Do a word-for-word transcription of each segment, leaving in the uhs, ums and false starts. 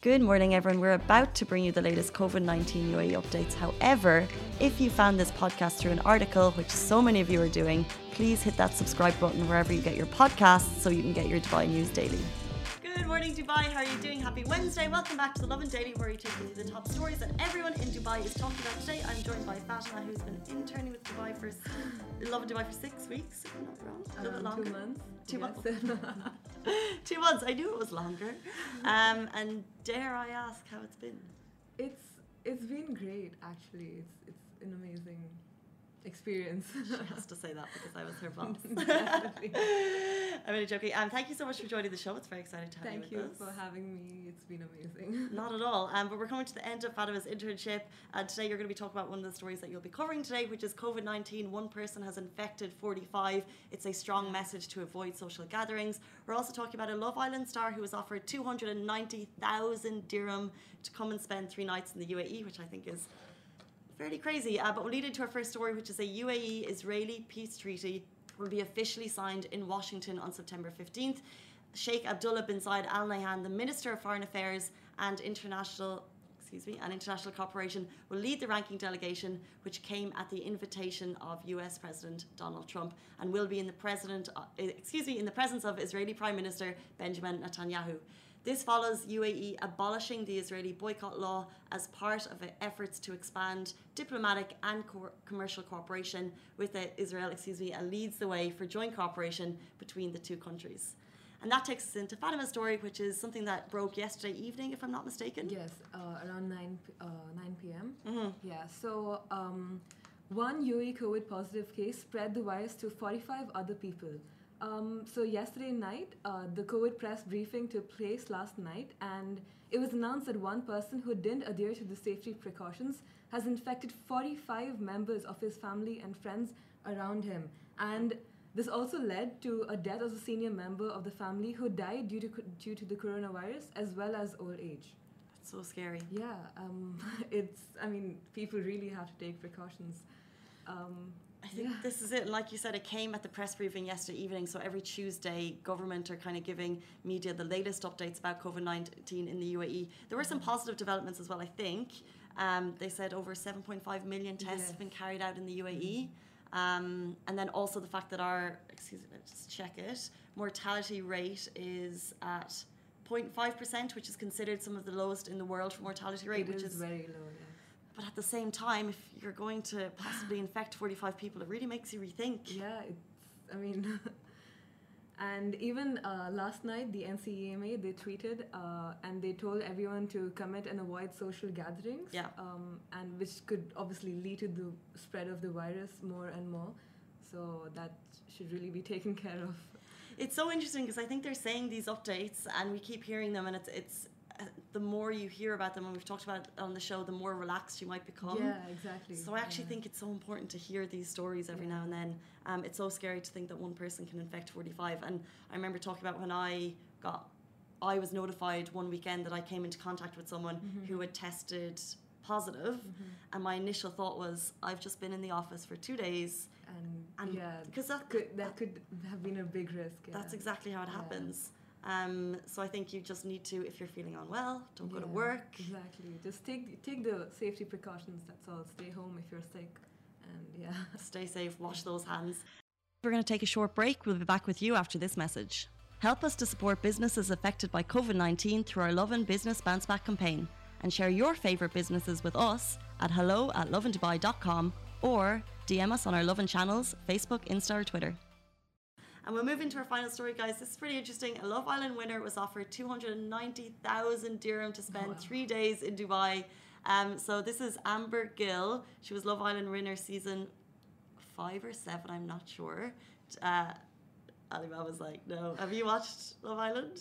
Good morning, everyone. We're about to bring you the latest COVID nineteen U A E updates. However, if you found this podcast through an article, which so many of you are doing, please hit that subscribe button wherever you get your podcasts so you can get your Dubai news daily. Good morning, Dubai. How are you doing? Happy Wednesday. Welcome back to the Lovin Daily, where we take you through the top stories that everyone in Dubai is talking about today. I'm joined by Fatima, who's been interning with Dubai for Lovin Dubai for six weeks. If I'm not wrong. A little bit longer. Two months. Two yes. months. Two months. I knew it was longer. Um, and dare I ask how it's been? It's it's been great, actually. It's it's an amazing experience. She has to say that because I was her boss. Definitely. I'm really joking. Um, thank you so much for joining the show. It's very exciting to have Thank you you with us. for having me. It's been amazing. Not at all. Um, but we're coming to the end of Fatima's internship. And today you're going to be talking about one of the stories that you'll be covering today, which is COVID nineteen. One person has infected forty-five. It's a strong message to avoid social gatherings. We're also talking about a Love Island star who was offered two hundred ninety thousand dirham to come and spend three nights in the U A E, which I think is fairly crazy. Uh, but we'll lead into our first story, which is a U A E-Israeli peace treaty will be officially signed in Washington on September fifteenth. Sheikh Abdullah bin Zayed Al Nahyan, the Minister of Foreign Affairs and International excuse me, and International Cooperation, will lead the ranking delegation, which came at the invitation of U S President Donald Trump and will be in the president, uh, excuse me, in the presence of Israeli Prime Minister Benjamin Netanyahu. This follows U A E abolishing the Israeli boycott law as part of efforts to expand diplomatic and co- commercial cooperation with Israel, excuse me, and leads the way for joint cooperation between the two countries. And that takes us into Fatima's story, which is something that broke yesterday evening, if I'm not mistaken. Yes, uh, around nine p.m. Mm-hmm. Yeah, so um, one U A E COVID positive case spread the virus to forty-five other people. Um, so yesterday night, uh, the COVID press briefing took place last night, and it was announced that one person who didn't adhere to the safety precautions has infected forty-five members of his family and friends around him. And this also led to a death of a senior member of the family who died due to due to the coronavirus, as well as old age. That's so scary. Yeah, um, it's, I mean, people really have to take precautions. Um, I think yeah. this is it. Like you said, it came at the press briefing yesterday evening. So every Tuesday, government are kind of giving media the latest updates about COVID nineteen in the U A E. There were some positive developments as well, I think. Um, they said over seven point five million tests Yes. have been carried out in the U A E. Um, and then also the fact that our, excuse me, let's just check it, mortality rate is at zero point five percent, which is considered some of the lowest in the world for mortality rate, it which is is very low, yeah. But at the same time, if you're going to possibly infect forty-five people, it really makes you rethink. Yeah, it's, I mean, and even uh, last night, the N C E M A, they tweeted uh, and they told everyone to commit and avoid social gatherings. Yeah. Um, and which could obviously lead to the spread of the virus more and more. So that should really be taken care of. It's so interesting because I think they're saying these updates and we keep hearing them, and it's it's uh, the more you hear about them, and we've talked about it on the show, the more relaxed you might become. Yeah, exactly. So I actually yeah. think it's so important to hear these stories every Yeah. now and then. Um, it's so scary to think that one person can infect forty-five. And I remember talking about when I got, I was notified one weekend that I came into contact with someone Mm-hmm. who had tested positive, Mm-hmm. and my initial thought was, I've just been in the office for two days. And, And yeah, because that could, that could have been a big risk. Yeah. That's exactly how it Yeah. happens. Um, so I think you just need to, if you're feeling unwell, don't go to Yeah, work. Exactly. Just take take the safety precautions. That's all. Stay home if you're sick, and yeah. Stay safe, wash those hands. We're going to take a short break. We'll be back with you after this message. Help us to support businesses affected by COVID nineteen through our Lovin Business Bounce Back campaign, and share your favourite businesses with us at hello at lovindubai dot com or D M us on our Lovin channels, Facebook, Insta or Twitter. And we'll move into our final story, guys. This is pretty interesting. A Love Island winner was offered two hundred ninety thousand dirham to spend Wow. three days in Dubai. Um, so this is Amber Gill. She was Love Island winner season five or seven, I'm not sure. Uh, Alibaba was like, no. Have you watched Love Island?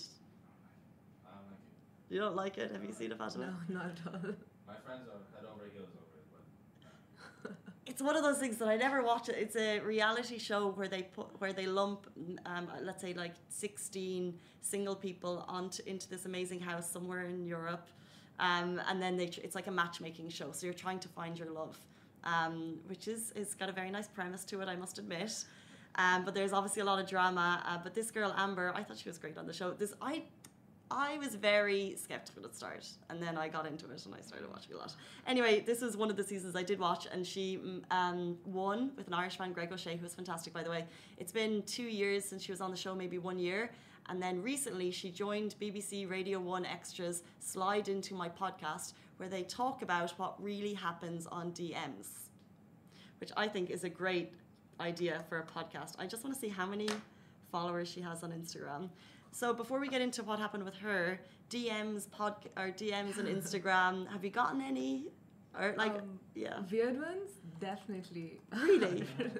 I don't like it. You don't like it? Have you seen it, Fatima? No, not at all. My friends are head over heels over it, but It's one of those things that I never watch it. It's a reality show where they put where they lump, um, let's say like sixteen single people onto into this amazing house somewhere in Europe, um, and then they tr- it's like a matchmaking show. So you're trying to find your love, um, which is is got a very nice premise to it, I must admit. Um, but there's obviously a lot of drama. Uh, but this girl Amber, I thought she was great on the show. This I I was very skeptical at the start, and then I got into it and I started watching a lot. Anyway, this was one of the seasons I did watch, and she mm, um, won with an Irishman, Greg O'Shea, who was fantastic, by the way. It's been two years since she was on the show, maybe one year. And then recently she joined B B C Radio one Extra's Slide Into My Podcast, where they talk about what really happens on D Ms, which I think is a great idea for a podcast. I just want to see how many followers she has on Instagram. So before we get into what happened with her, D Ms, pod, or D Ms on Instagram, have you gotten any? Or like, Um, yeah. Weird ones? Definitely. Really?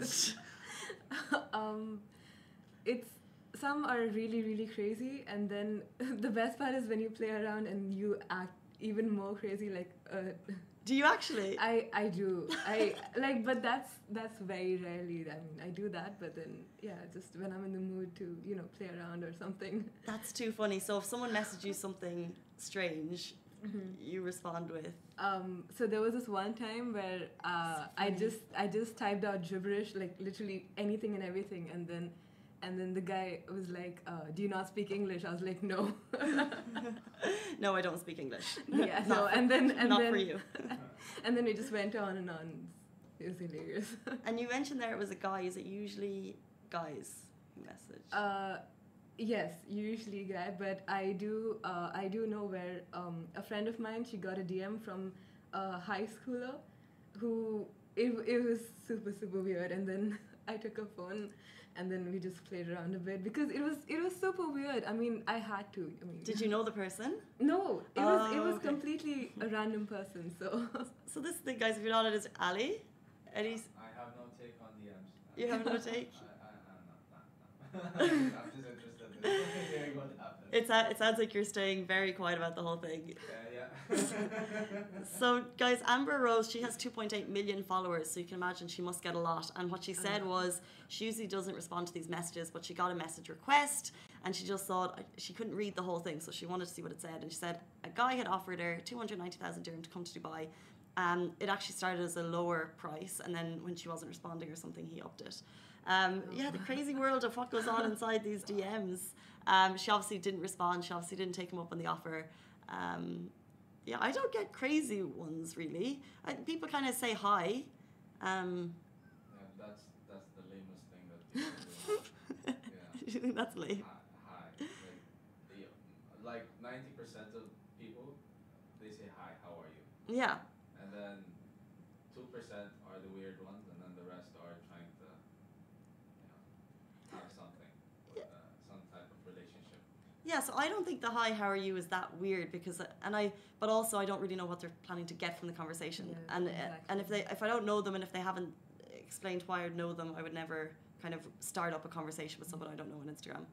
um, it's some are really really crazy, and then the best part is when you play around and you act even more crazy. Like, uh, Do you actually? I I do I like, but that's that's very rarely. I mean, I do that, but then yeah, just when I'm in the mood to you know play around or something. That's too funny. So if someone messaged you something strange, you respond with. Um, so there was this one time where uh, I just I just typed out gibberish, like literally anything and everything, and then and then the guy was like, uh, "Do you not speak English?" I was like, "No." No, I don't speak English. Yeah, Not no, for- and then and not then for you. and then we just went on and on. It was hilarious. And you mentioned there it was a guy. Is it usually guys who message? Uh, yes, usually guy, but I do uh, I do know where um, a friend of mine, she got a D M from a high schooler who it, it was super super weird, and then I took her phone and then we just played around a bit because it was it was super weird. I mean, I had to. I mean, Did you know the person? No, it was it Oh, was okay. completely a random person. So So this thing, guys, if you're not, it is Ali. Eddie's. I have no take on D Ms. You have no take? I, I, I'm not, not, not. I'm just interested in hearing what happened. It's a, it sounds like you're staying very quiet about the whole thing. Yeah, yeah. So, guys, Amber Rose, she has two point eight million followers, so you can imagine she must get a lot. And what she said lot. was she usually doesn't respond to these messages, but she got a message request and she just thought she couldn't read the whole thing, so she wanted to see what it said. And she said a guy had offered her two hundred ninety thousand dirham to come to Dubai. Um, it actually started as a lower price, and then when she wasn't responding or something, he upped it. Um, yeah, the crazy world of what goes on inside these D Ms. Um, she obviously didn't respond. She obviously didn't take him up on the offer. Um, yeah, I don't get crazy ones really. I, people kind of say hi. Um, Yeah, that's that's the lamest thing that people do. Yeah. you think that's lame? Hi, hi. Like, the, like ninety percent of people, they say hi, how are you? Yeah. And then two percent are the weird ones, and then the rest are trying to, you know, have something, with, uh, some type of relationship. Yeah, so I don't think the hi, how are you is that weird because, and I, but also I don't really know what they're planning to get from the conversation. Yeah, and uh, exactly. and if they, if I don't know them and if they haven't explained why I know them, I would never kind of start up a conversation with someone I don't know on Instagram.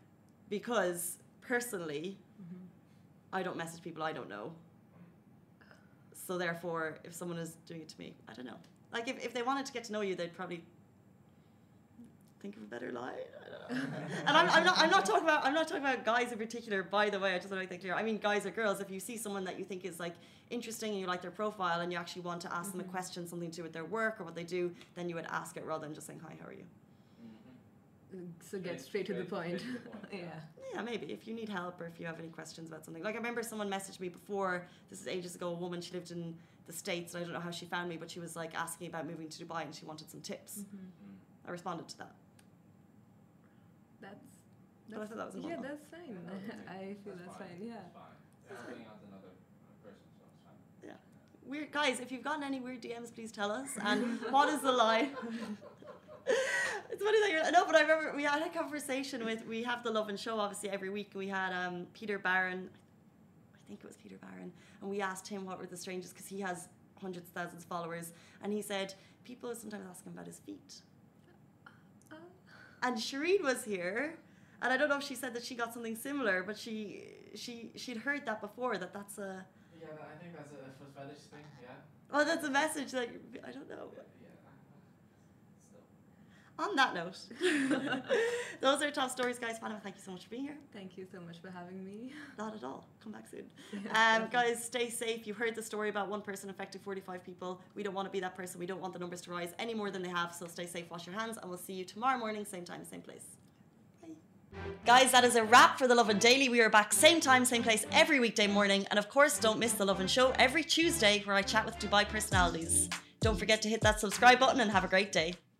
Because personally, Mhm. I don't message people I don't know. So therefore, if someone is doing it to me, I don't know. Like if, if they wanted to get to know you, they'd probably think of a better line. I don't know. And I'm, I'm not I'm not talking about I'm not talking about guys in particular, by the way. I just want to make that clear. I mean guys or girls. If you see someone that you think is like interesting and you like their profile and you actually want to ask them a question, something to do with their work or what they do, then you would ask it rather than just saying hi, how are you? So get straight to the point. Yeah. Yeah, maybe if you need help or if you have any questions about something. Like I remember someone messaged me before, this is ages ago, a woman, she lived in the States and I don't know how she found me, but she was like asking about moving to Dubai and she wanted some tips. Mhm. I responded to that. That's. But I thought that was yeah, normal. that's fine. I feel that's, fine. Yeah. It's fine. It's helping out another uh, person, so it's fine. Yeah. Weird guys, if you've gotten any weird D Ms, please tell us. And what is the line? It's funny that you're no, but I remember we had a conversation with we have the Love and Show obviously every week. We had um, Peter Barron, I think it was Peter Barron, and we asked him what were the strangest because he has hundreds of thousands of followers, and he said people sometimes ask him about his feet. Uh, And Shireen was here, and I don't know if she said that she got something similar, but she she she'd heard that before that that's a Yeah, but I think that's a foot fetish thing, yeah? oh that's a message that you're, I don't know. Yeah. Still. On that note, those are top stories, guys. Fatima, thank you so much for being here. Thank you so much for having me. Not at all. Come back soon. Yeah, Um, guys, stay safe. You heard the story about one person infected forty-five people. We don't want to be that person. We don't want the numbers to rise any more than they have. So stay safe, wash your hands, and we'll see you tomorrow morning, same time, same place. Bye. Guys, that is a wrap for The Lovin Daily. We are back same time, same place every weekday morning. And of course, don't miss The Lovin Show every Tuesday where I chat with Dubai personalities. Don't forget to hit that subscribe button and have a great day.